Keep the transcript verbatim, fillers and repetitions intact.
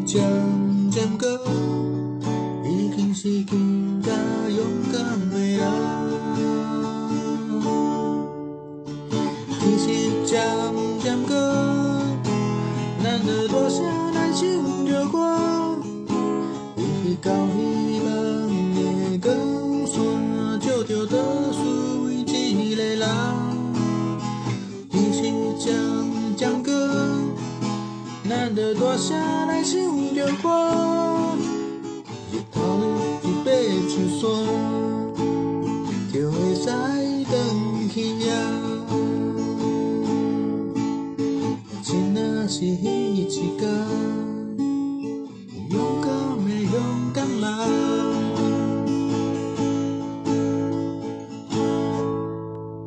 渐渐过，已经是更加勇敢的人。天是渐渐过，咱的大声来唱着歌，为彼到希望的光线，照着倒数每一个人。天是渐渐过，咱的大声来唱着歌，日头一爬出山，就会使转去呀。真若是彼一天。